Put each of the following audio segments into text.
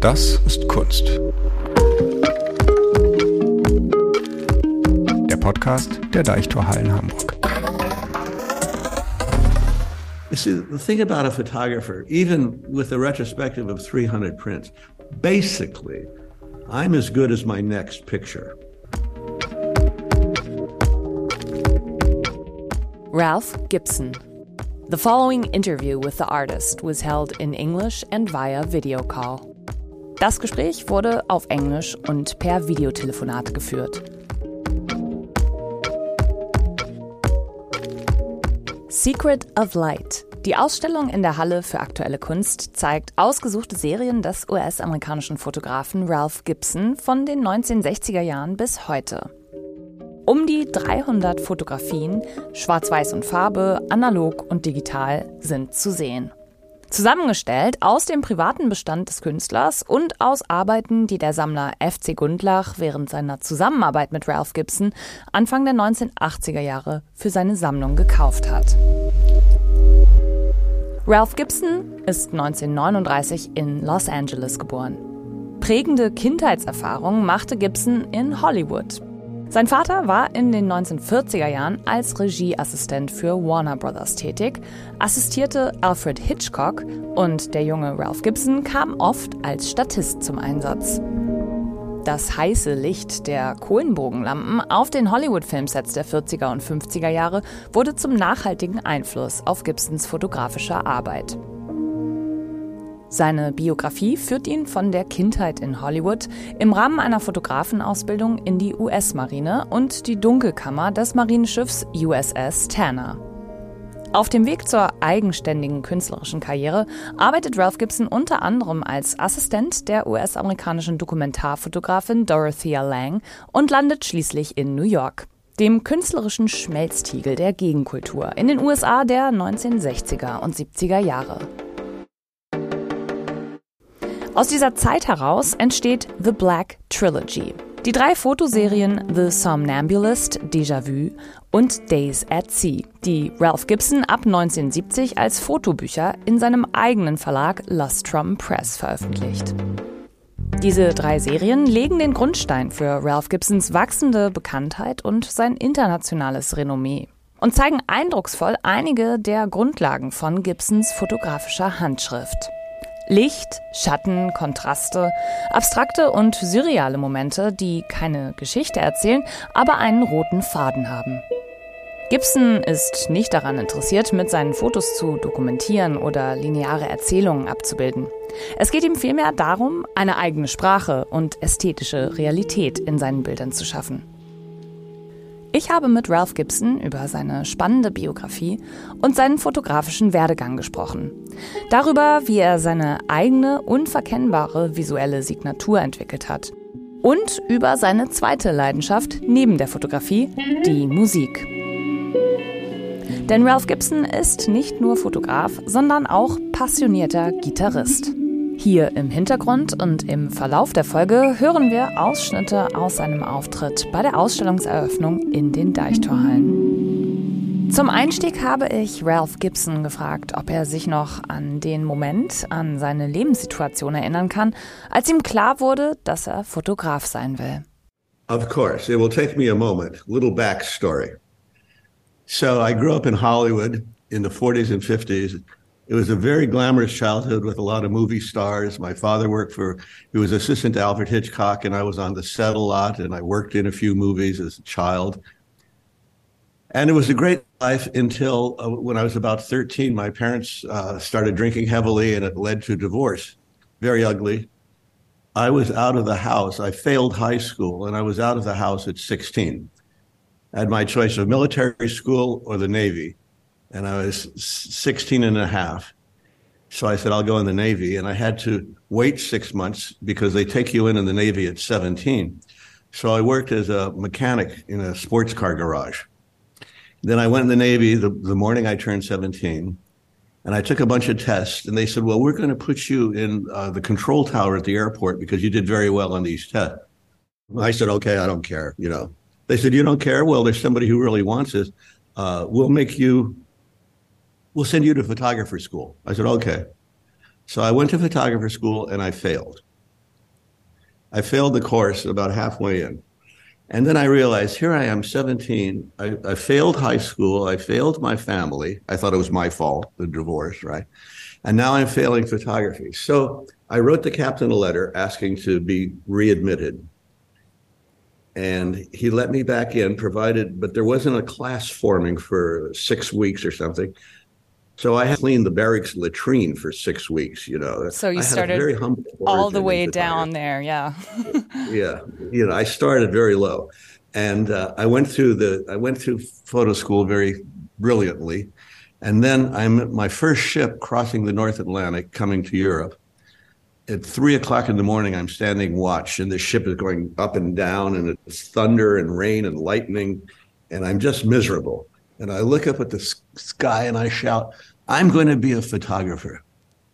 Das ist Kunst. Der Podcast der Deichtorhallen Hamburg. You see, the thing about a photographer, even with a retrospective of 300 prints, basically, I'm as good as my next picture. Ralph Gibson. The following interview with the artist was held in English and via video call. Das Gespräch wurde auf Englisch und per Videotelefonat geführt. Secret of Light. Die Ausstellung in der Halle für aktuelle Kunst zeigt ausgesuchte Serien des US-amerikanischen Fotografen Ralph Gibson von den 1960er Jahren bis heute. Um die 300 Fotografien, schwarz-weiß und Farbe, analog und digital, sind zu sehen. Zusammengestellt aus dem privaten Bestand des Künstlers und aus Arbeiten, die der Sammler F.C. Gundlach während seiner Zusammenarbeit mit Ralph Gibson Anfang der 1980er Jahre für seine Sammlung gekauft hat. Ralph Gibson ist 1939 in Los Angeles geboren. Prägende Kindheitserfahrungen machte Gibson in Hollywood. Sein Vater war in den 1940er Jahren als Regieassistent für Warner Brothers tätig, assistierte Alfred Hitchcock und der junge Ralph Gibson kam oft als Statist zum Einsatz. Das heiße Licht der Kohlenbogenlampen auf den Hollywood-Filmsets der 40er und 50er Jahre wurde zum nachhaltigen Einfluss auf Gibsons fotografische Arbeit. Seine Biografie führt ihn von der Kindheit in Hollywood im Rahmen einer Fotografenausbildung in die US-Marine und die Dunkelkammer des Marineschiffs USS Tanner. Auf dem Weg zur eigenständigen künstlerischen Karriere arbeitet Ralph Gibson unter anderem als Assistent der US-amerikanischen Dokumentarfotografin Dorothea Lange und landet schließlich in New York, dem künstlerischen Schmelztiegel der Gegenkultur in den USA der 1960er und 70er Jahre. Aus dieser Zeit heraus entsteht The Black Trilogy. Die 3 Fotoserien The Somnambulist, Déjà Vu und Days at Sea, die Ralph Gibson ab 1970 als Fotobücher in seinem eigenen Verlag Lustrum Press veröffentlicht. Diese 3 Serien legen den Grundstein für Ralph Gibsons wachsende Bekanntheit und sein internationales Renommee und zeigen eindrucksvoll einige der Grundlagen von Gibsons fotografischer Handschrift. Licht, Schatten, Kontraste, abstrakte und surreale Momente, die keine Geschichte erzählen, aber einen roten Faden haben. Gibson ist nicht daran interessiert, mit seinen Fotos zu dokumentieren oder lineare Erzählungen abzubilden. Es geht ihm vielmehr darum, eine eigene Sprache und ästhetische Realität in seinen Bildern zu schaffen. Ich habe mit Ralph Gibson über seine spannende Biografie und seinen fotografischen Werdegang gesprochen. Darüber, wie er seine eigene, unverkennbare visuelle Signatur entwickelt hat. Und über seine zweite Leidenschaft neben der Fotografie, die Musik. Denn Ralph Gibson ist nicht nur Fotograf, sondern auch passionierter Gitarrist. Hier im Hintergrund und im Verlauf der Folge hören wir Ausschnitte aus seinem Auftritt bei der Ausstellungseröffnung in den Deichtorhallen. Zum Einstieg habe ich Ralph Gibson gefragt, ob er sich noch an den Moment, an seine Lebenssituation erinnern kann, als ihm klar wurde, dass er Fotograf sein will. Of course, it will take me a moment. Little backstory. So I grew up in Hollywood in the 40s and 50s. It was a very glamorous childhood with a lot of movie stars. My father he was assistant to Alfred Hitchcock, and I was on the set a lot, and I worked in a few movies as a child. And it was a great life until when I was about 13, my parents started drinking heavily, and it led to divorce. Very ugly. I was out of the house. I failed high school, and I was out of the house at 16. I had my choice of military school or the Navy. And I was 16 and a half. So I said, I'll go in the Navy. And I had to wait 6 months because they take you in the Navy at 17. So I worked as a mechanic in a sports car garage. Then I went in the Navy the morning I turned 17. And I took a bunch of tests. And they said, well, we're going to put you in the control tower at the airport because you did very well on these tests. I said, okay, I don't care, They said, you don't care? Well, there's somebody who really wants this. We'll send you to photographer school. I said, okay. So I went to photographer school and I failed. I failed the course about halfway in. And then I realized, here I am, 17. I failed high school. I failed my family. I thought it was my fault, the divorce, right? And now I'm failing photography. So I wrote the captain a letter asking to be readmitted. And he let me back in, but there wasn't a class forming for 6 weeks or something. So I had to clean the barracks latrine for 6 weeks, So you I started very humble all the way down there, yeah. Yeah, I started very low. And I went through photo school very brilliantly. And then I'm at my first ship crossing the North Atlantic coming to Europe. At 3:00 in the morning, I'm standing watch, and the ship is going up and down, and it's thunder and rain and lightning, and I'm just miserable. And I look up at the sky and I shout, I'm going to be a photographer.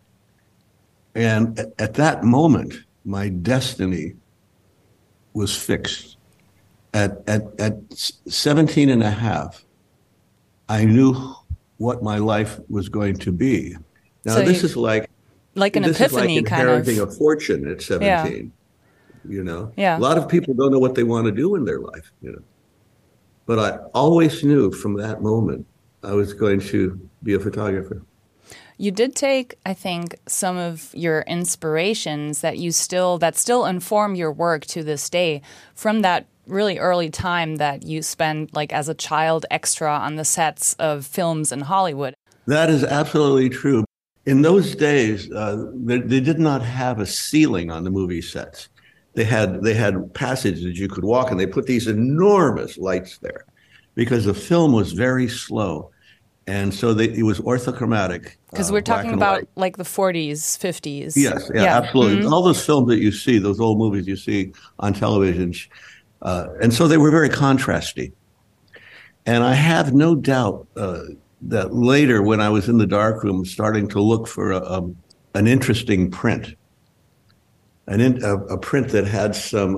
And at that moment, my destiny was fixed. At 17 and a half, I knew what my life was going to be. Now, so this is like an epiphany, kind of. Inheriting a fortune at 17, Yeah. A lot of people don't know what they want to do in their life, But I always knew from that moment I was going to be a photographer. You did take, I think, some of your inspirations that still inform your work to this day from that really early time that you spent like as a child extra on the sets of films in Hollywood. That is absolutely true. In those days, they did not have a ceiling on the movie sets. They had passages you could walk, and they put these enormous lights there because the film was very slow. And so it was orthochromatic. Because we're talking about like the 40s, 50s. Yes, absolutely. Mm-hmm. All those films that you see, those old movies you see on television. And so they were very contrasty. And I have no doubt that later when I was in the darkroom starting to look for an interesting print, a print that had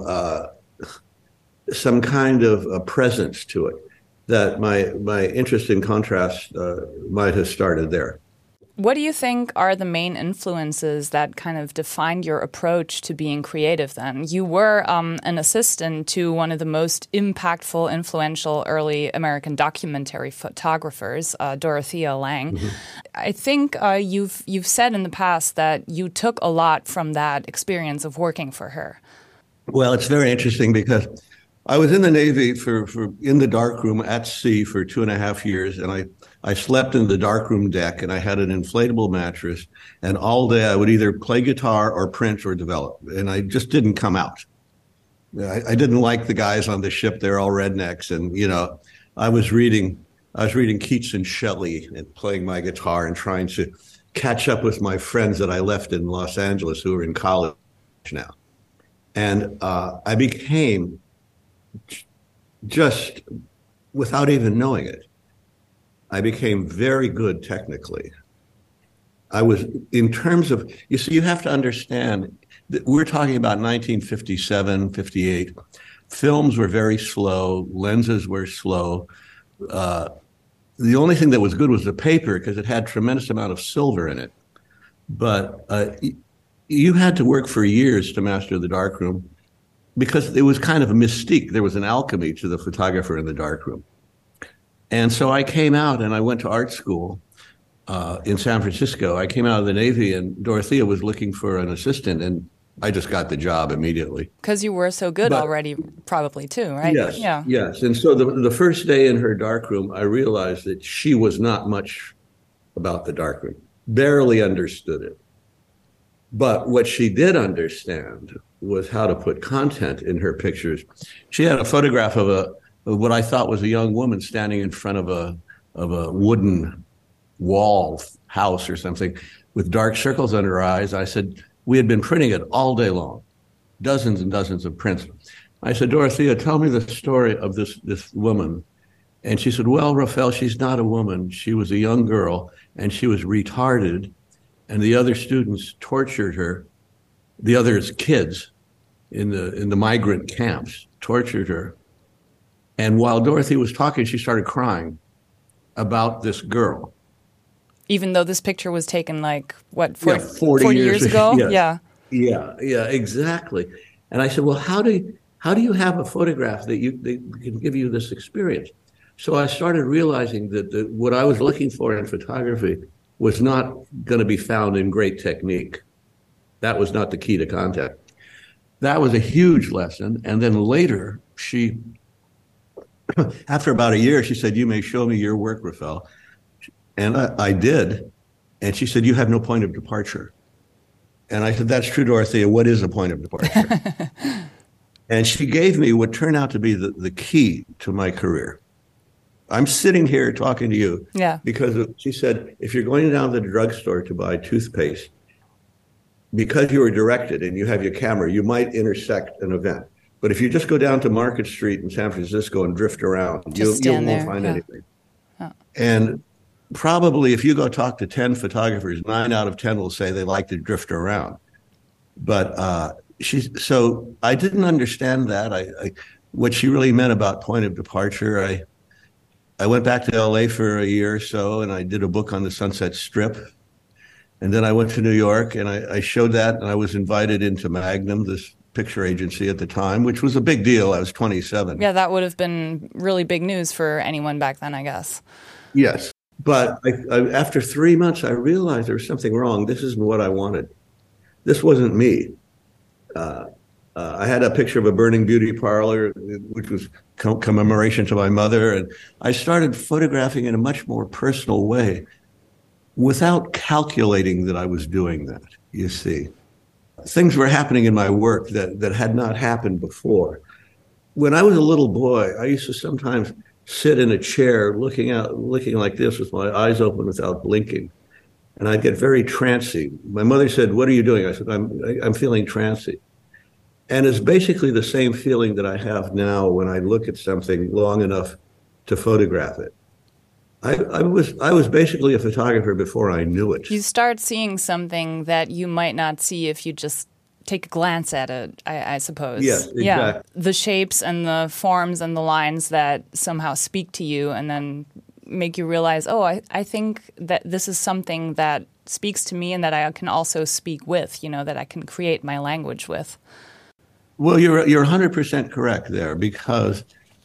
some kind of a presence to it, that my interest in contrast might have started there. What do you think are the main influences that kind of defined your approach to being creative then? You were an assistant to one of the most impactful, influential early American documentary photographers, Dorothea Lange. Mm-hmm. I think you've said in the past that you took a lot from that experience of working for her. Well, it's very interesting because I was in the Navy for in the darkroom at sea for 2.5 years, and I slept in the darkroom deck, and I had an inflatable mattress, and all day I would either play guitar or print or develop, and I just didn't come out. I didn't like the guys on the ship; they're all rednecks, and I was reading Keats and Shelley and playing my guitar and trying to catch up with my friends that I left in Los Angeles who are in college now, and I became, just without even knowing it, I became very good technically. I was, in terms of, you have to understand that we're talking about 1957, 58. Films were very slow. Lenses were slow. The only thing that was good was the paper because it had tremendous amount of silver in it. But you had to work for years to master the darkroom because it was kind of a mystique. There was an alchemy to the photographer in the darkroom. And so I came out and I went to art school in San Francisco. I came out of the Navy and Dorothea was looking for an assistant, and I just got the job immediately. Because you were so good already, probably too, right? Yes, yeah. Yes. And so the first day in her darkroom, I realized that she was not much about the darkroom, barely understood it. But what she did understand was how to put content in her pictures. She had a photograph of what I thought was a young woman standing in front of a wooden wall house or something with dark circles under her eyes. I said, we had been printing it all day long, dozens and dozens of prints. I said, Dorothea, tell me the story of this woman. And she said, well, Rafael, she's not a woman. She was a young girl and she was retarded. And the other students tortured her. The other kids in the migrant camps tortured her. And while Dorothy was talking, she started crying about this girl. Even though this picture was taken 40 years ago? Yes. Yeah, exactly. And I said, well, how do you have a photograph that can give you this experience? So I started realizing that what I was looking for in photography was not going to be found in great technique. That was not the key to contact. That was a huge lesson. And then later, after about a year, she said, you may show me your work, Rafael. And I did. And she said, you have no point of departure. And I said, that's true, Dorothea. What is a point of departure? And she gave me what turned out to be the key to my career. I'm sitting here talking to you because she said, if you're going down to the drugstore to buy toothpaste, because you were directed and you have your camera, you might intersect an event. But if you just go down to Market Street in San Francisco and drift around, you won't find anything. Oh. And probably if you go talk to 10 photographers, 9 out of 10 will say they like to drift around. But so I didn't understand that. What she really meant about point of departure. I went back to LA for a year or so, and I did a book on the Sunset Strip. And then I went to New York, and I showed that, and I was invited into Magnum, this picture agency at the time, which was a big deal. I was 27. Yeah, that would have been really big news for anyone back then, I guess. Yes. But after 3 months, I realized there was something wrong. This isn't what I wanted. This wasn't me. I had a picture of a burning beauty parlor, which was commemoration to my mother. And I started photographing in a much more personal way without calculating that I was doing that, you see. Things were happening in my work that had not happened before. When I was a little boy, I used to sometimes sit in a chair looking like this with my eyes open without blinking. And I'd get very trancy. My mother said, what are you doing? I said, I'm feeling trancy. And it's basically the same feeling that I have now when I look at something long enough to photograph it. I was basically a photographer before I knew it. You start seeing something that you might not see if you just take a glance at it, I suppose. Yes, exactly. Yeah, the shapes and the forms and the lines that somehow speak to you and then make you realize, oh, I think that this is something that speaks to me and that I can also speak with, that I can create my language with. Well, you're 100% correct there, because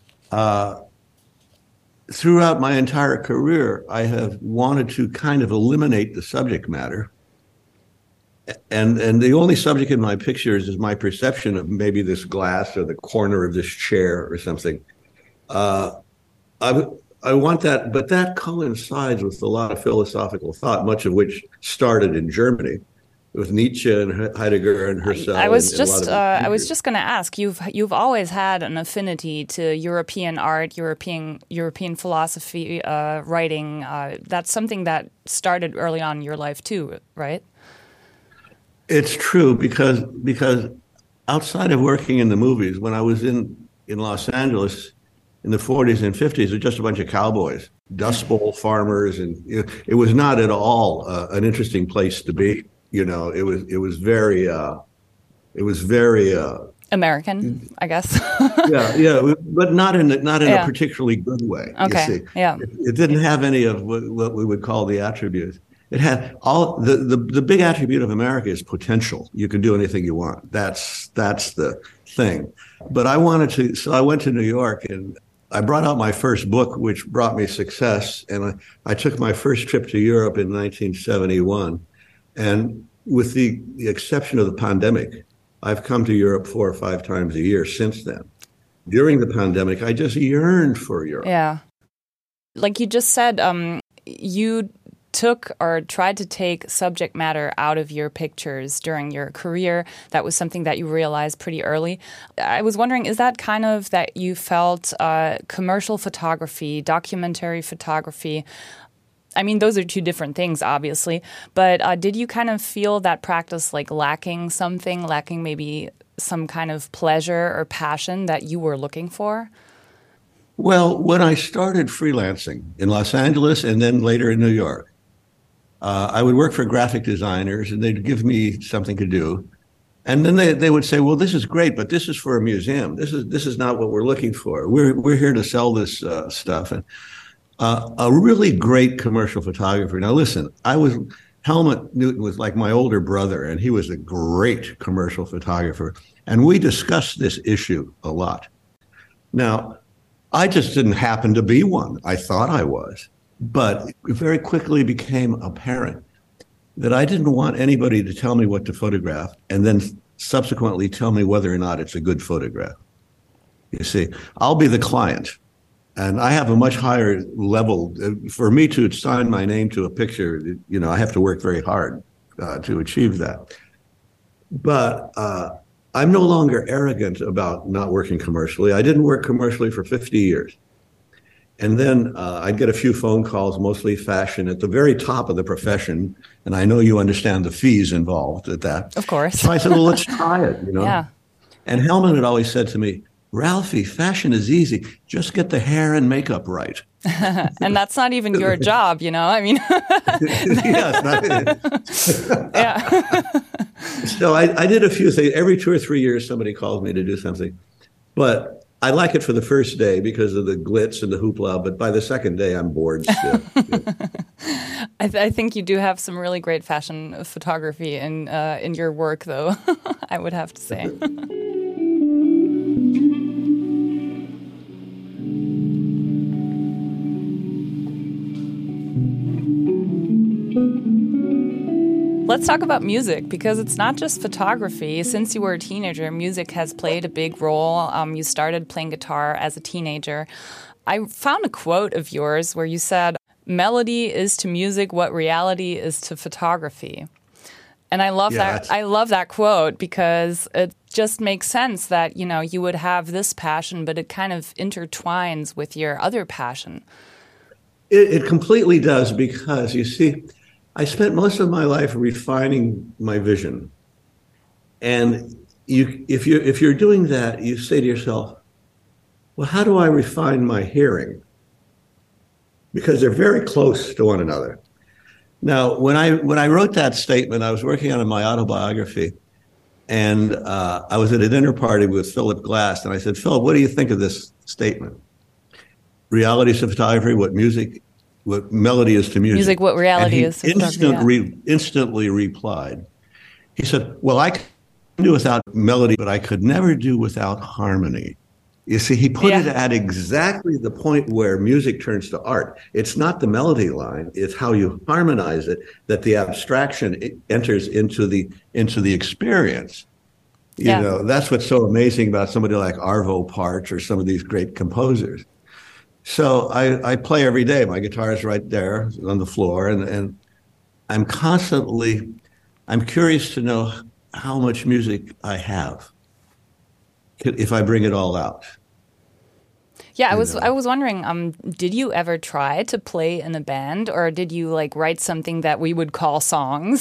throughout my entire career, I have wanted to kind of eliminate the subject matter. And the only subject in my pictures is my perception of maybe this glass or the corner of this chair or something. I want that, but that coincides with a lot of philosophical thought, much of which started in Germany with Nietzsche and Heidegger and Husserl. I was just going to ask. You've always had an affinity to European art, European philosophy, writing. That's something that started early on in your life too, right? It's true because outside of working in the movies, when I was in Los Angeles in the 40s and 50s, it was just a bunch of cowboys, Dust Bowl farmers, and it was not at all an interesting place to be. It was very American, I guess. yeah, but not in a particularly good way. Okay. You see. Yeah. It didn't have any of what we would call the attributes. It had all the big attribute of America is potential. You can do anything you want. That's the thing. But I went to New York and I brought out my first book, which brought me success. And I took my first trip to Europe in 1971. And with the exception of the pandemic, I've come to Europe 4 or 5 times a year since then. During the pandemic, I just yearned for Europe. Yeah. Like you just said, you took or tried to take subject matter out of your pictures during your career. That was something that you realized pretty early. I was wondering, is that kind of that you felt commercial photography, documentary photography? I mean, those are two different things, obviously. But did you kind of feel that practice like lacking maybe some kind of pleasure or passion that you were looking for? Well, when I started freelancing in Los Angeles and then later in New York, I would work for graphic designers and they'd give me something to do. And then they would say, well, this is great, but this is for a museum. This is not what we're looking for. We're here to sell this stuff. And a really great commercial photographer. Now, listen, I was Helmut Newton was like my older brother, and he was a great commercial photographer. And we discussed this issue a lot. Now, I just didn't happen to be one. I thought I was. But it very quickly became apparent that I didn't want anybody to tell me what to photograph and then subsequently tell me whether or not it's a good photograph. You see, I'll be the client, and I have a much higher level. For me to sign my name to a picture, you know, I have to work very hard to achieve that. But I'm no longer arrogant about not working commercially. I didn't work commercially for 50 years. And then I'd get a few phone calls, mostly fashion, at the very top of the profession. And I know you understand the fees involved at that. Of course. So I said, well, let's try it, you know. Yeah. And Helmut had always said to me, Ralphie, fashion is easy. Just get the hair and makeup right. And that's not even your job, you know? I mean, yeah. So I did a few things. Every 2 or 3 years, somebody calls me to do something. But I like it for the first day because of the glitz and the hoopla. But by the second day, I'm bored still. Yeah. I think you do have some really great fashion photography in your work, though, I would have to say. Let's talk about music, because it's not just photography. Since you were a teenager, music has played a big role. You started playing guitar as a teenager. I found a quote of yours where you said, "Melody is to music what reality is to photography." And I love that. I love that quote because it just makes sense that, you know, you would have this passion, but it kind of intertwines with your other passion. It completely does, because you see, I spent most of my life refining my vision. And if you're doing that, you say to yourself, well, how do I refine my hearing? Because they're very close to one another. Now, when I wrote that statement, I was working on my autobiography, and I was at a dinner party with Philip Glass, and I said, Philip, what do you think of this statement? Reality is to photography, what melody is to music. Music, what reality is to photography. Instantly replied. He said, well, I can do without melody, but I could never do without harmony. You see, he put it at exactly the point where music turns to art. It's not the melody line, it's how you harmonize it, that the abstraction enters into the experience. You know, that's what's so amazing about somebody like Arvo Part or some of these great composers. So I play every day. My guitar is right there on the floor, and I'm curious to know how much music I have if I bring it all out. Yeah, I was wondering, did you ever try to play in a band, or did you like write something that we would call songs?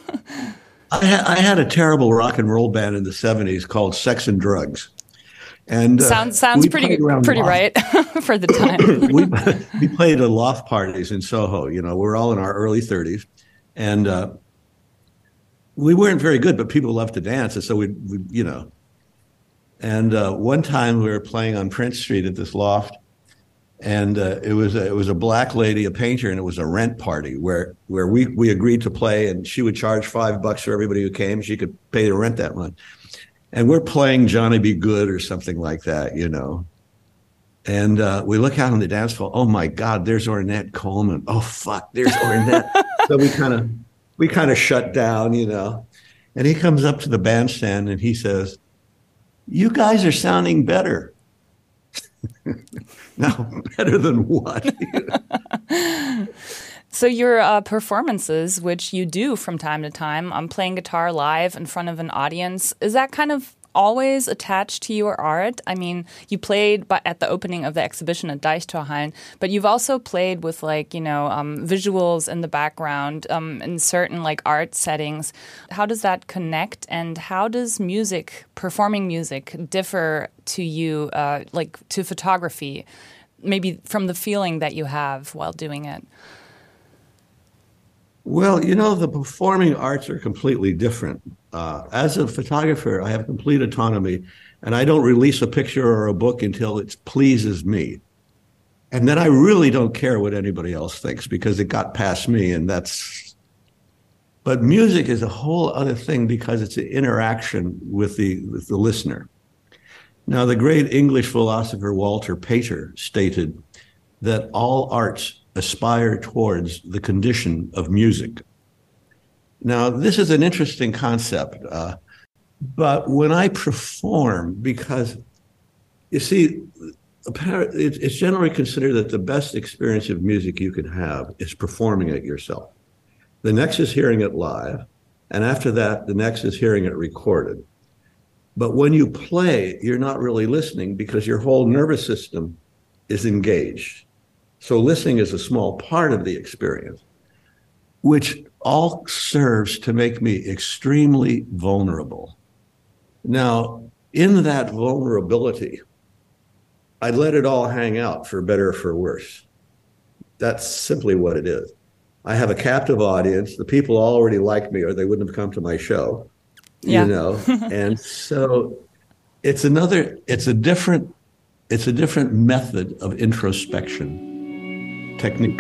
I had a terrible rock and roll band in the 70s called Sex and Drugs. And sounds pretty right for the time. we played at loft parties in Soho. You know, we're all in our early 30s, and we weren't very good, but people loved to dance, and so we you know. And one time we were playing on Prince Street at this loft, and it was a black lady, a painter, and it was a rent party where we agreed to play, and she would charge $5 for everybody who came. She could pay the rent that month. And we're playing Johnny Be Good or something like that, you know. And we look out on the dance floor. Oh my God, there's Ornette Coleman. Oh fuck, there's Ornette. So we kind of shut down, you know. And he comes up to the bandstand and he says, "You guys are sounding better." Now, better than what? So your performances, which you do from time to time, playing guitar live in front of an audience, is that kind of always attached to your art? I mean, you played at the opening of the exhibition at Deichtorhallen, but you've also played with visuals in the background in certain like art settings. How does that connect, and how does performing music differ to you, to photography, maybe from the feeling that you have while doing it? Well, you know, the performing arts are completely different. As a photographer, I have complete autonomy, and I don't release a picture or a book until it pleases me. And then I really don't care what anybody else thinks, because it got past me, and that's But music is a whole other thing because it's an interaction with the listener. Now, the great English philosopher Walter Pater stated that all arts aspire towards the condition of music. Now, this is an interesting concept, but when I perform, because you see, it's generally considered that the best experience of music you could have is performing it yourself. The next is hearing it live, and after that, the next is hearing it recorded. But when you play, you're not really listening because your whole nervous system is engaged. So listening is a small part of the experience, which all serves to make me extremely vulnerable. Now, in that vulnerability, I let it all hang out, for better or for worse. That's simply what it is. I have a captive audience. The people already like me or they wouldn't have come to my show. Yeah. You know, and so it's a different method of introspection technique.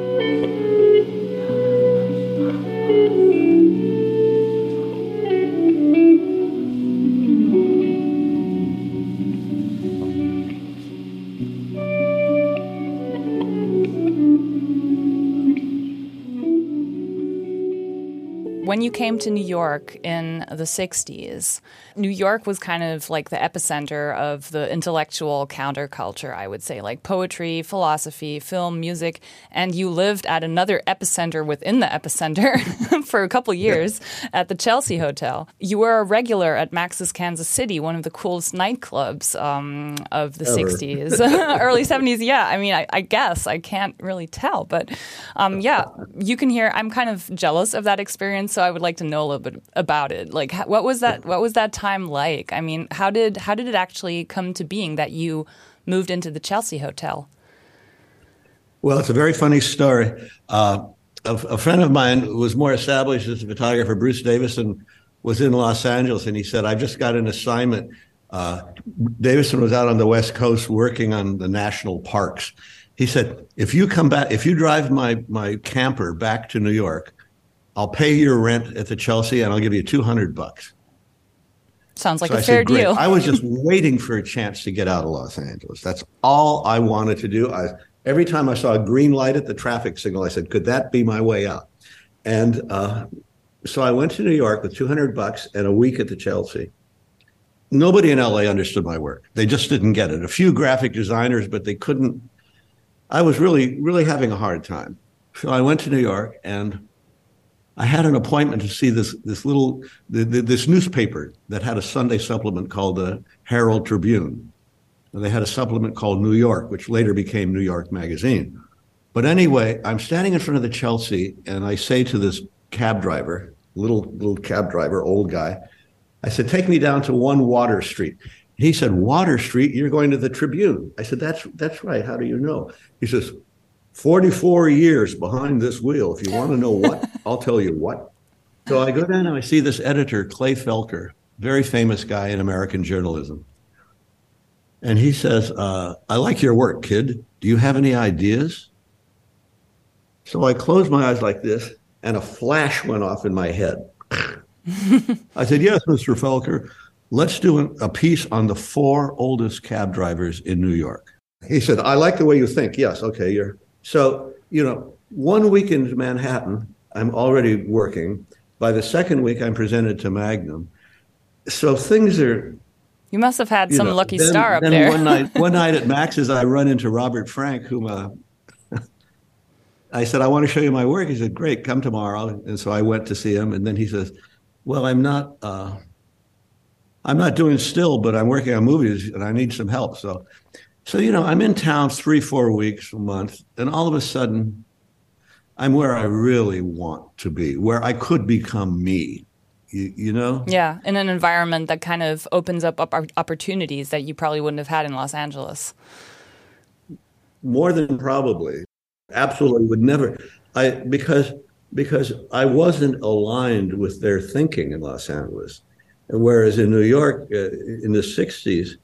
When you came to New York in the 60s, New York was kind of like the epicenter of the intellectual counterculture, I would say, like poetry, philosophy, film, music, and you lived at another epicenter within the epicenter for a couple years at the Chelsea Hotel. You were a regular at Max's Kansas City, one of the coolest nightclubs of the 60s, early 70s. Yeah, I mean, I guess I can't really tell, but yeah, you can hear. I'm kind of jealous of that experience. So I would like to know a little bit about it. Like, what was that time like? I mean, how did it actually come to being that you moved into the Chelsea Hotel? Well, it's a very funny story. A friend of mine who was more established as a photographer, Bruce Davison, was in Los Angeles, and he said, "I've just got an assignment." Davison was out on the West Coast working on the national parks. He said, if you drive my camper back to New York, I'll pay your rent at the Chelsea and I'll give you $200. Sounds like a fair deal. I was just waiting for a chance to get out of Los Angeles. That's all I wanted to do. Every time I saw a green light at the traffic signal, I said, could that be my way out? And so I went to New York with $200 and a week at the Chelsea. Nobody in LA understood my work. They just didn't get it. A few graphic designers, but they couldn't. I was really, really having a hard time. So I went to New York and I had an appointment to see this newspaper that had a Sunday supplement called the Herald Tribune. And they had a supplement called New York, which later became New York Magazine. But anyway, I'm standing in front of the Chelsea and I say to this cab driver, little cab driver, old guy, I said, take me down to 1 Water Street. He said, Water Street, you're going to the Tribune. I said, that's right. How do you know? He says, 44 years behind this wheel. If you want to know what, I'll tell you what. So I go down and I see this editor, Clay Felker, very famous guy in American journalism. And he says, I like your work, kid. Do you have any ideas? So I closed my eyes like this and a flash went off in my head. I said, yes, Mr. Felker, let's do a piece on the 4 oldest cab drivers in New York. He said, I like the way you think. Yes, okay, So, 1 week in Manhattan, I'm already working. By the second week, I'm presented to Magnum. So things are... You must have had some lucky star up there. One night at Max's, I run into Robert Frank, whom I said, I want to show you my work. He said, great, come tomorrow. And so I went to see him. And then he says, well, I'm not doing still, but I'm working on movies and I need some help. So I'm in town 3-4 weeks, a month, and all of a sudden, I'm where I really want to be, where I could become me, you know? Yeah, in an environment that kind of opens up opportunities that you probably wouldn't have had in Los Angeles. More than probably. Absolutely would never. Because I wasn't aligned with their thinking in Los Angeles. Whereas in New York, in the 60s,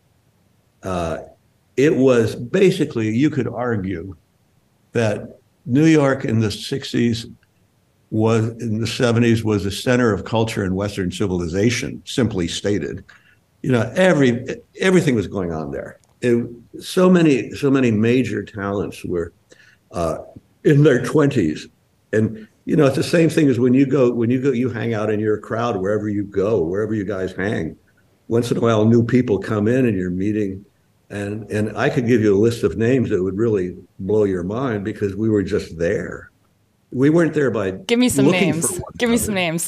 it was basically, you could argue that New York in the 60s was in the 70s was a center of culture and Western civilization, simply stated. Everything was going on there. So many major talents were in their 20s. And it's the same thing as when you hang out in your crowd, wherever you go, wherever you guys hang. Once in a while, new people come in and you're meeting. And I could give you a list of names that would really blow your mind because we were just there. We weren't there by Give me some names. Give me some names.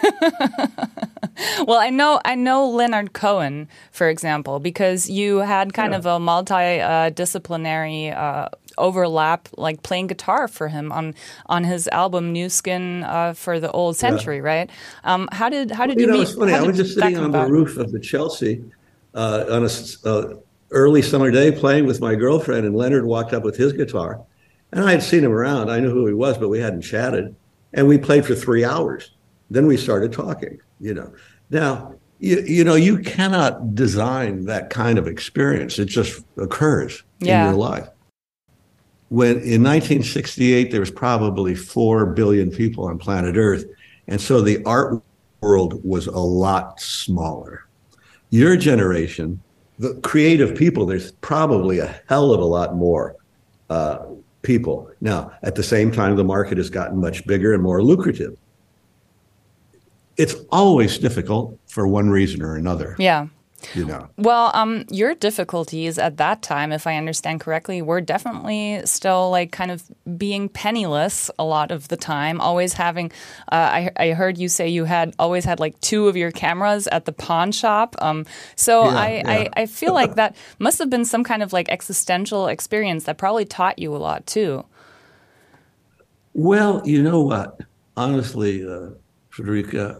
Well, I know Leonard Cohen, for example, because you had kind of a multidisciplinary overlap, like playing guitar for him on his album New Skin for the Old Century, right? How did you meet? It's funny. I was just sitting on the roof of the Chelsea on a early summer day playing with my girlfriend, and Leonard walked up with his guitar. And I had seen him around. I knew who he was, but we hadn't chatted. And we played for 3 hours. Then we started talking, Now, you cannot design that kind of experience. It just occurs in your life. When in 1968, there was probably 4 billion people on planet Earth. And so the art world was a lot smaller. Your generation, the creative people, there's probably a hell of a lot more people. Now, at the same time, the market has gotten much bigger and more lucrative. It's always difficult for one reason or another. Yeah. Well, your difficulties at that time, if I understand correctly, were definitely still like kind of being penniless a lot of the time, always having, I heard you say you always had like 2 of your cameras at the pawn shop. I feel like that must have been some kind of like existential experience that probably taught you a lot too. Well, you know what? Honestly, Frederica,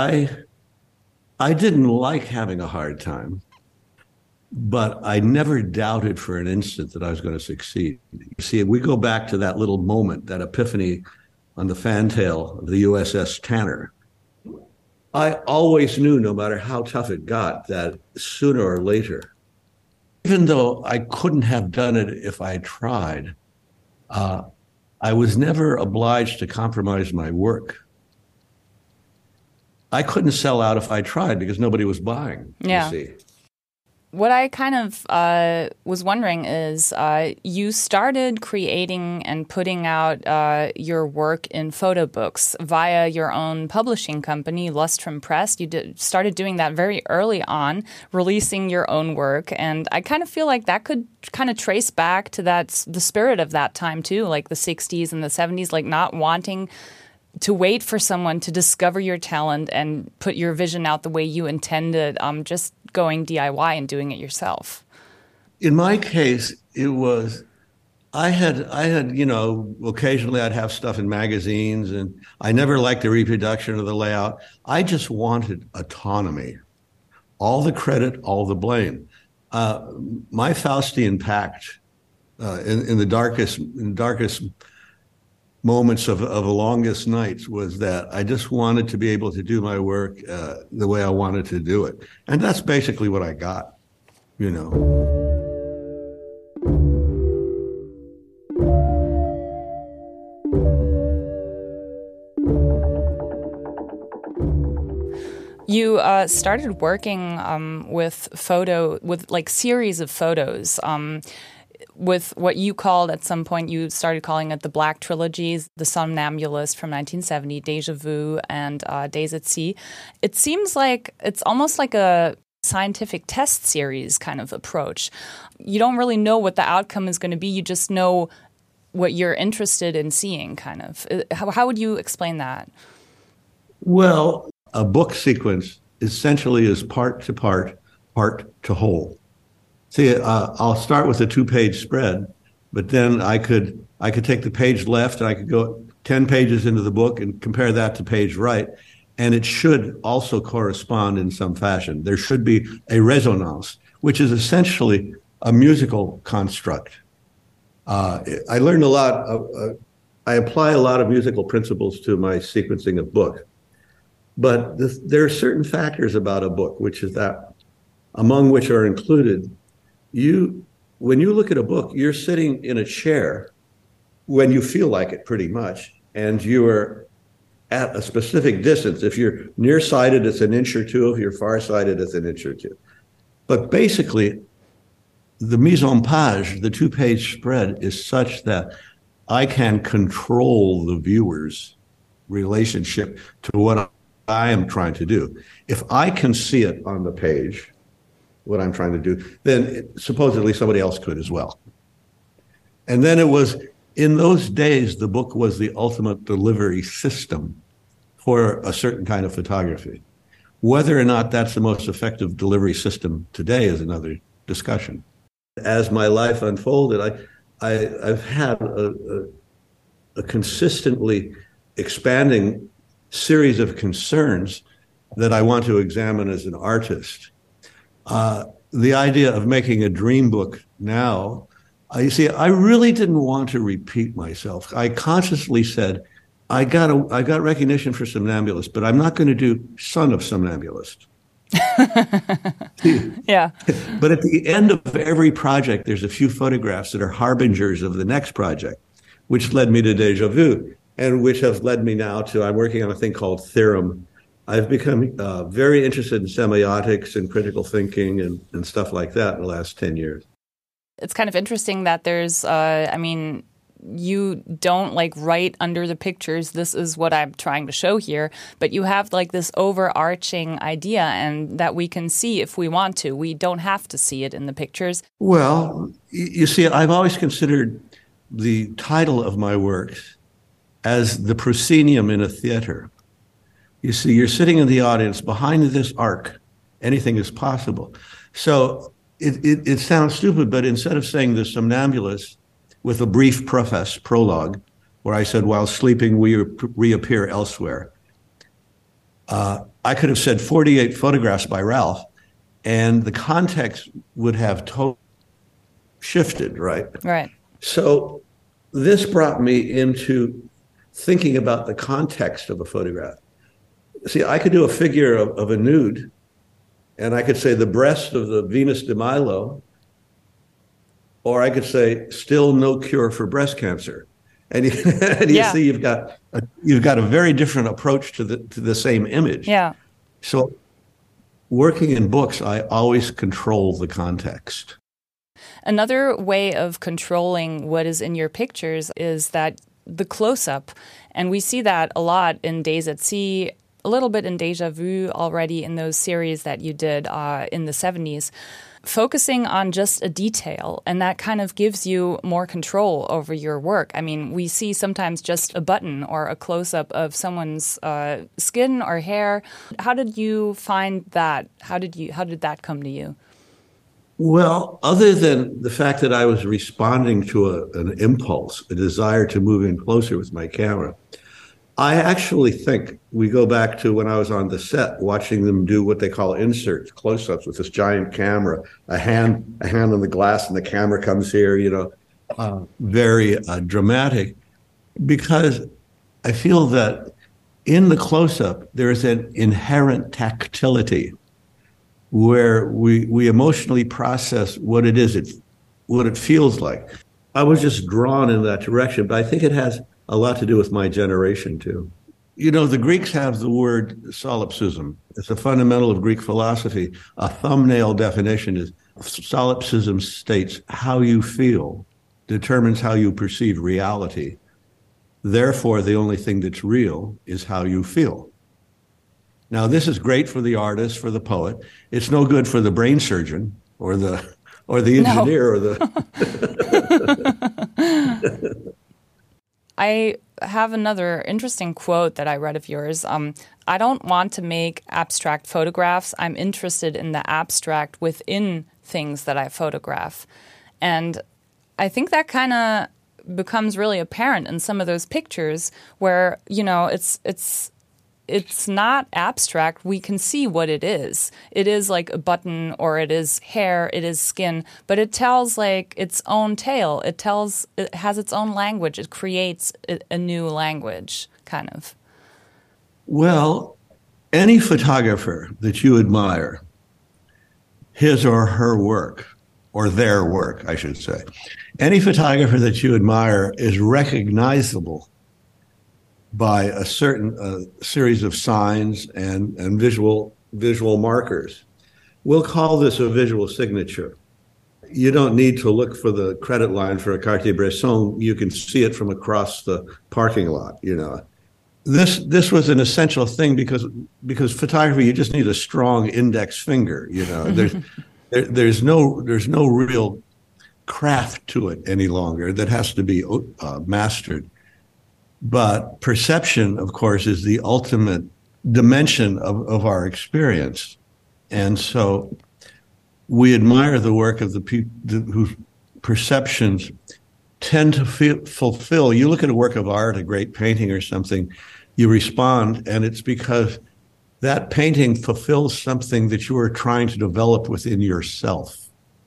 I didn't like having a hard time, but I never doubted for an instant that I was going to succeed. You see, we go back to that little moment, that epiphany on the fantail of the USS Tanner. I always knew, no matter how tough it got, that sooner or later, even though I couldn't have done it if I tried, I was never obliged to compromise my work. I couldn't sell out if I tried because nobody was buying, you see. What I kind of was wondering is you started creating and putting out your work in photo books via your own publishing company, Lustrum Press. You started doing that very early on, releasing your own work. And I kind of feel like that could kind of trace back to the spirit of that time too, like the 60s and the 70s, like not wanting to wait for someone to discover your talent and put your vision out the way you intended, just going DIY and doing it yourself. In my case, it was, I had, occasionally I'd have stuff in magazines, and I never liked the reproduction or the layout. I just wanted autonomy, all the credit, all the blame. My Faustian pact in the darkest moments of the longest nights was that I just wanted to be able to do my work the way I wanted to do it. And that's basically what I got, You started working with like series of photos. With what you called at some point, you started calling it the Black Trilogies, The Somnambulist from 1970, Deja Vu, and Days at Sea. It seems like it's almost like a scientific test series kind of approach. You don't really know what the outcome is going to be. You just know what you're interested in seeing, kind of. How would you explain that? Well, a book sequence essentially is part to part, part to whole. See, I'll start with a 2-page spread, but then I could take the page left and I could go 10 pages into the book and compare that to page right, and it should also correspond in some fashion. There should be a resonance, which is essentially a musical construct. I learned a lot. I apply a lot of musical principles to my sequencing of books, but there are certain factors about a book, which is that, among which are included, when you look at a book, you're sitting in a chair when you feel like it, pretty much, and you are at a specific distance. If you're nearsighted, it's an inch or two. If you're farsighted, it's an inch or two. But basically, the mise en page, the 2-page spread, is such that I can control the viewer's relationship to what I am trying to do. If I can see it on the page, what I'm trying to do, then supposedly somebody else could as well. And then it was, in those days, the book was the ultimate delivery system for a certain kind of photography. Whether or not that's the most effective delivery system today is another discussion. As my life unfolded, I've had a consistently expanding series of concerns that I want to examine as an artist. The idea of making a dream book now, you see, I really didn't want to repeat myself. I consciously said, I got recognition for Somnambulist, but I'm not going to do Son of Somnambulist. Yeah. But at the end of every project, there's a few photographs that are harbingers of the next project, which led me to Déjà Vu, and which has led me now to, I'm working on a thing called Theorem. I've become very interested in semiotics and critical thinking and stuff like that in the last 10 years. It's kind of interesting that there's, you don't like write under the pictures, this is what I'm trying to show here, but you have like this overarching idea and that we can see if we want to. We don't have to see it in the pictures. Well, you see, I've always considered the title of my works as the proscenium in a theater. You see, you're sitting in the audience, behind this arc, anything is possible. So it sounds stupid, but instead of saying the somnambulist with a brief prologue, where I said, while sleeping, we reappear elsewhere, I could have said 48 photographs by Ralph, and the context would have totally shifted, right? Right. So this brought me into thinking about the context of a photograph. See, I could do a figure of a nude, and I could say the breast of the Venus de Milo, or I could say still no cure for breast cancer. And you see, you've got a very different approach to the same image. Yeah. So working in books, I always control the context. Another way of controlling what is in your pictures is that the close-up, and we see that a lot in Days at Sea, a little bit in Déjà Vu already in those series that you did in the 70s, focusing on just a detail, and that kind of gives you more control over your work. I mean, we see sometimes just a button or a close-up of someone's skin or hair. How did you find that? How did that come to you? Well, other than the fact that I was responding to an impulse, a desire to move in closer with my camera, I actually think we go back to when I was on the set, watching them do what they call inserts, close-ups with this giant camera, a hand on the glass, and the camera comes here, very dramatic, because I feel that in the close-up, there is an inherent tactility where we emotionally process what it is, what it feels like. I was just drawn in that direction, but I think it has a lot to do with my generation, too. The Greeks have the word solipsism. It's a fundamental of Greek philosophy. A thumbnail definition is solipsism states how you feel determines how you perceive reality. Therefore, the only thing that's real is how you feel. Now, this is great for the artist, for the poet. It's no good for the brain surgeon or the engineer or the. I have another interesting quote that I read of yours. I don't want to make abstract photographs. I'm interested in the abstract within things that I photograph. And I think that kind of becomes really apparent in some of those pictures where, it's not abstract. We can see what it is. It is like a button, or it is hair, it is skin, but it tells like its own tale. It has its own language. It creates a new language, kind of. Well, any photographer that you admire, his or her work, or their work, I should say, any photographer that you admire is recognizable by a certain series of signs and visual markers. We'll call this a visual signature. You don't need to look for the credit line for a Cartier-Bresson. You can see it from across the parking lot, you know. This was an essential thing because photography, you just need a strong index finger, you know. There's no real craft to it any longer that has to be mastered. But perception, of course, is the ultimate dimension of our experience. And so we admire the work of the people whose perceptions tend to fulfill. You look at a work of art, a great painting or something, you respond, and it's because that painting fulfills something that you are trying to develop within yourself.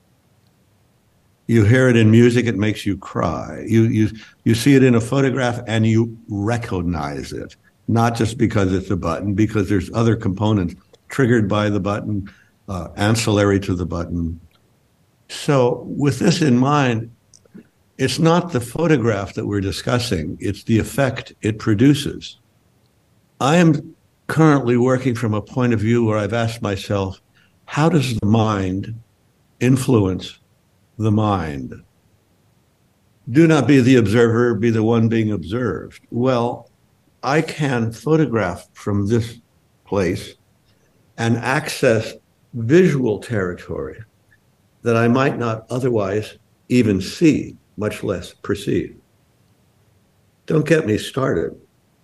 You hear it in music, it makes you cry. You see it in a photograph and you recognize it, not just because it's a button, because there's other components triggered by the button, ancillary to the button. So with this in mind, it's not the photograph that we're discussing, it's the effect it produces. I am currently working from a point of view where I've asked myself, how does the mind influence the mind? Do not be the observer, be the one being observed. Well, I can photograph from this place and access visual territory that I might not otherwise even see, much less perceive. Don't get me started.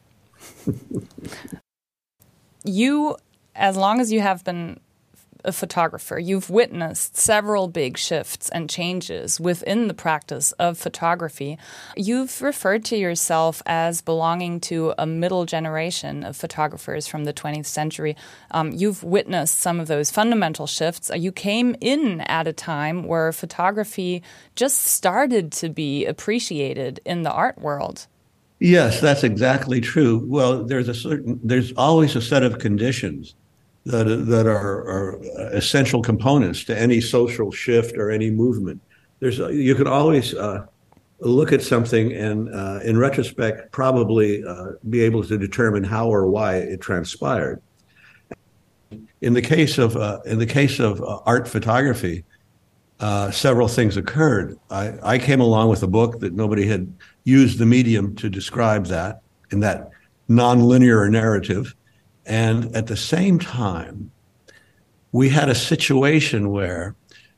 You, as long as you have been a photographer, you've witnessed several big shifts and changes within the practice of photography. You've referred to yourself as belonging to a middle generation of photographers from the 20th century. You've witnessed some of those fundamental shifts. You came in at a time where photography just started to be appreciated in the art world. Yes, that's exactly true. Well, there's always a set of conditions that are essential components to any social shift or any movement. You can always look at something and, in retrospect, probably be able to determine how or why it transpired. In the case of art photography, several things occurred. I came along with a book that nobody had used the medium to describe that in that nonlinear narrative. And at the same time, we had a situation where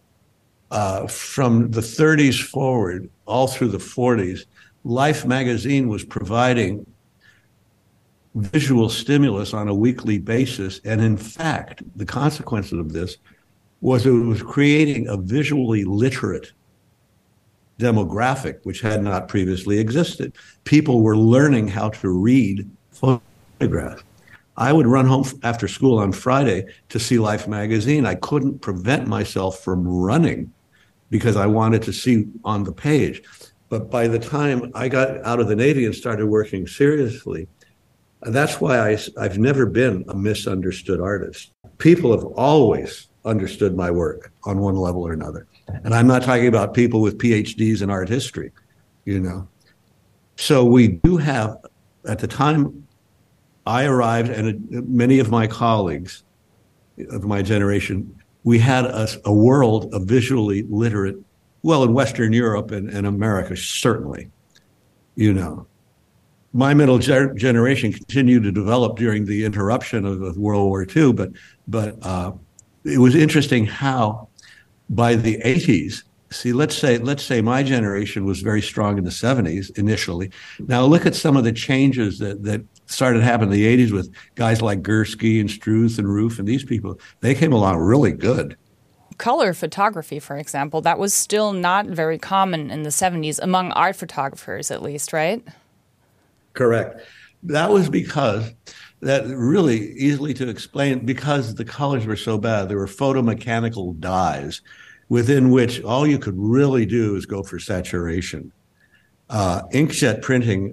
from the 30s forward, all through the 40s, Life magazine was providing visual stimulus on a weekly basis. And in fact, the consequences of this was it was creating a visually literate demographic, which had not previously existed. People were learning how to read photographs. I would run home after school on Friday to see Life magazine. I couldn't prevent myself from running because I wanted to see on the page. But by the time I got out of the Navy and started working seriously, that's why I've never been a misunderstood artist. People have always understood my work on one level or another. And I'm not talking about people with PhDs in art history, you know. So we do have, at the time I arrived, and many of my colleagues of my generation, we had a world of visually literate, well, in Western Europe and America, certainly, you know. My middle generation continued to develop during the interruption of World War II, but it was interesting how by the 80s, see, let's say my generation was very strong in the 70s initially. Now look at some of the changes that started happening in the 80s with guys like Gursky and Struth and Roof and these people. They came along really good. Color photography, for example, that was still not very common in the 70s, among art photographers at least, right? Correct. That was because, that really easily to explain, because the colors were so bad. There were photomechanical dyes within which all you could really do is go for saturation. Inkjet printing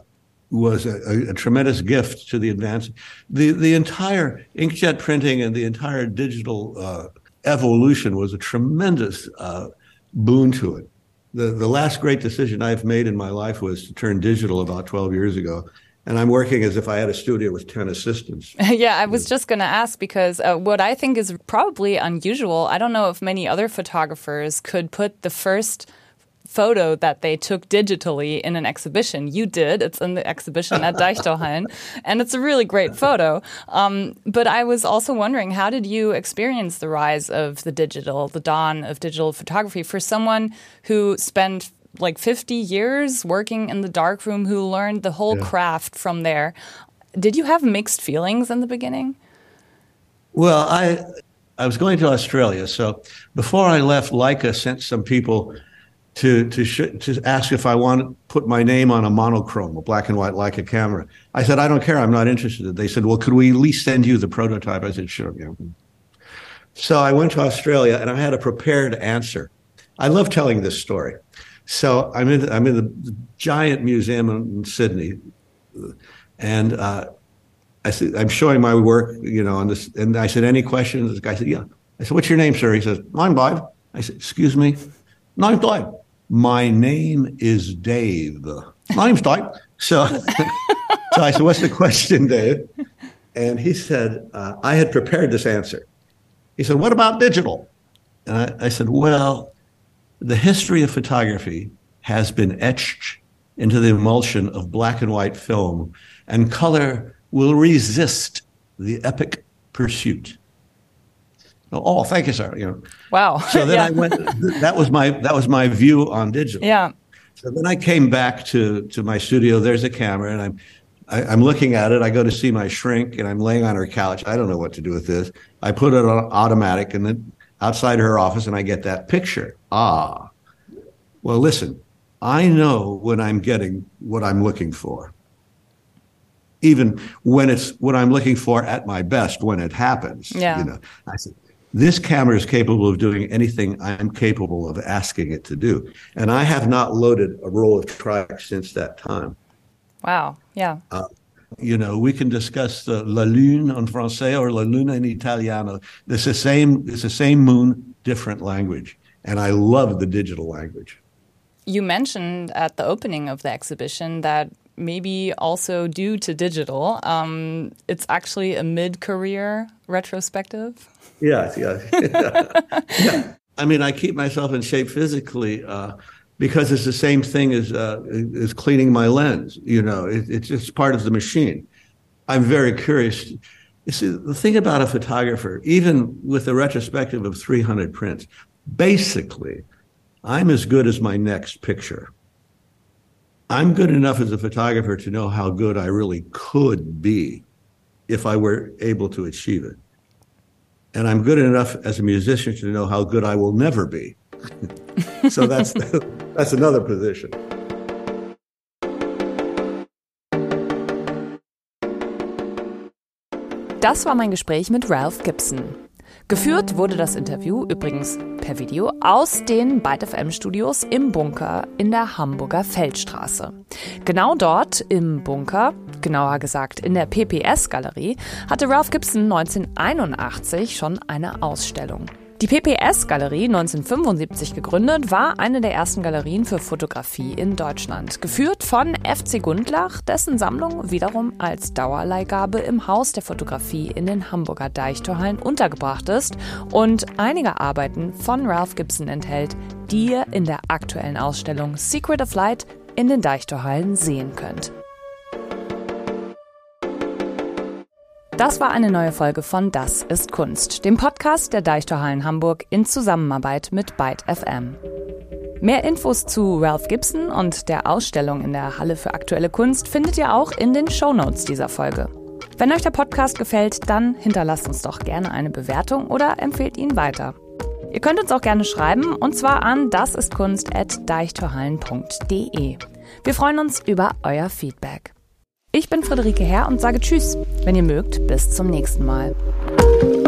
was a tremendous gift to the advance. The entire inkjet printing and the entire digital evolution was a tremendous boon to it. The last great decision I've made in my life was to turn digital about 12 years ago. And I'm working as if I had a studio with 10 assistants. Yeah, I was just going to ask because what I think is probably unusual, I don't know if many other photographers could put the first photo that they took digitally in an exhibition. You did. It's in the exhibition at Deichtorhallen, and it's a really great photo. But I was also wondering, how did you experience the rise of the dawn of digital photography for someone who spent like 50 years working in the darkroom, who learned the whole craft from there? Did you have mixed feelings in the beginning? Well, I was going to Australia, so before I left, Leica sent some people to ask if I want to put my name on a monochrome, a black and white Leica camera. I said, I don't care. I'm not interested. They said, well, could we at least send you the prototype? I said, sure. Yeah. So I went to Australia and I had a prepared answer. I love telling this story. So I'm in the giant museum in Sydney, and I said, I'm showing my work, on this. And I said, any questions? The guy said, yeah. I said, what's your name, sir? He says, I'm Dave. I said, excuse me? No, I'm Dave. My name is Dave. Name's Dave. So I said, what's the question, Dave? And he said, I had prepared this answer. He said, what about digital? And I said, well, the history of photography has been etched into the emulsion of black and white film, and color will resist the epic pursuit. Oh, thank you, sir. Wow. So then I went. That was my view on digital. Yeah. So then I came back to my studio. There's a camera, and I'm looking at it. I go to see my shrink, and I'm laying on her couch. I don't know what to do with this. I put it on automatic, and then outside her office, and I get that picture. Well, listen. I know when I'm getting what I'm looking for. Even when it's what I'm looking for at my best, when it happens. Yeah. I said, this camera is capable of doing anything I'm capable of asking it to do. And I have not loaded a roll of Tri-X since that time. Wow. Yeah. We can discuss the La Lune en français or La Luna in Italiano. It's the same moon, different language. And I love the digital language. You mentioned at the opening of the exhibition that maybe also due to digital, it's actually a mid-career retrospective. Yeah. I mean, I keep myself in shape physically because it's the same thing as cleaning my lens. It's just part of the machine. I'm very curious. You see, the thing about a photographer, even with a retrospective of 300 prints, basically, I'm as good as my next picture. I'm good enough as a photographer to know how good I really could be if I were able to achieve it. And I'm good enough as a musician to know how good I will never be. So that's another position. Das war mein Gespräch mit Ralph Gibson. Geführt wurde das Interview übrigens per Video aus den Byte FM Studios im Bunker in der Hamburger Feldstraße. Genau dort im Bunker, genauer gesagt in der PPS-Galerie, hatte Ralph Gibson 1981 schon eine Ausstellung. Die PPS-Galerie, 1975 gegründet, war eine der ersten Galerien für Fotografie in Deutschland. Geführt von FC Gundlach, dessen Sammlung wiederum als Dauerleihgabe im Haus der Fotografie in den Hamburger Deichtorhallen untergebracht ist und einige Arbeiten von Ralph Gibson enthält, die ihr in der aktuellen Ausstellung Secret of Light in den Deichtorhallen sehen könnt. Das war eine neue Folge von Das ist Kunst, dem Podcast der Deichtorhallen Hamburg in Zusammenarbeit mit Byte FM. Mehr Infos zu Ralph Gibson und der Ausstellung in der Halle für aktuelle Kunst findet ihr auch in den Shownotes dieser Folge. Wenn euch der Podcast gefällt, dann hinterlasst uns doch gerne eine Bewertung oder empfehlt ihn weiter. Ihr könnt uns auch gerne schreiben, und zwar an dasistkunst@deichtorhallen.de. Wir freuen uns über euer Feedback. Ich bin Friederike Herr und sage Tschüss. Wenn ihr mögt, bis zum nächsten Mal.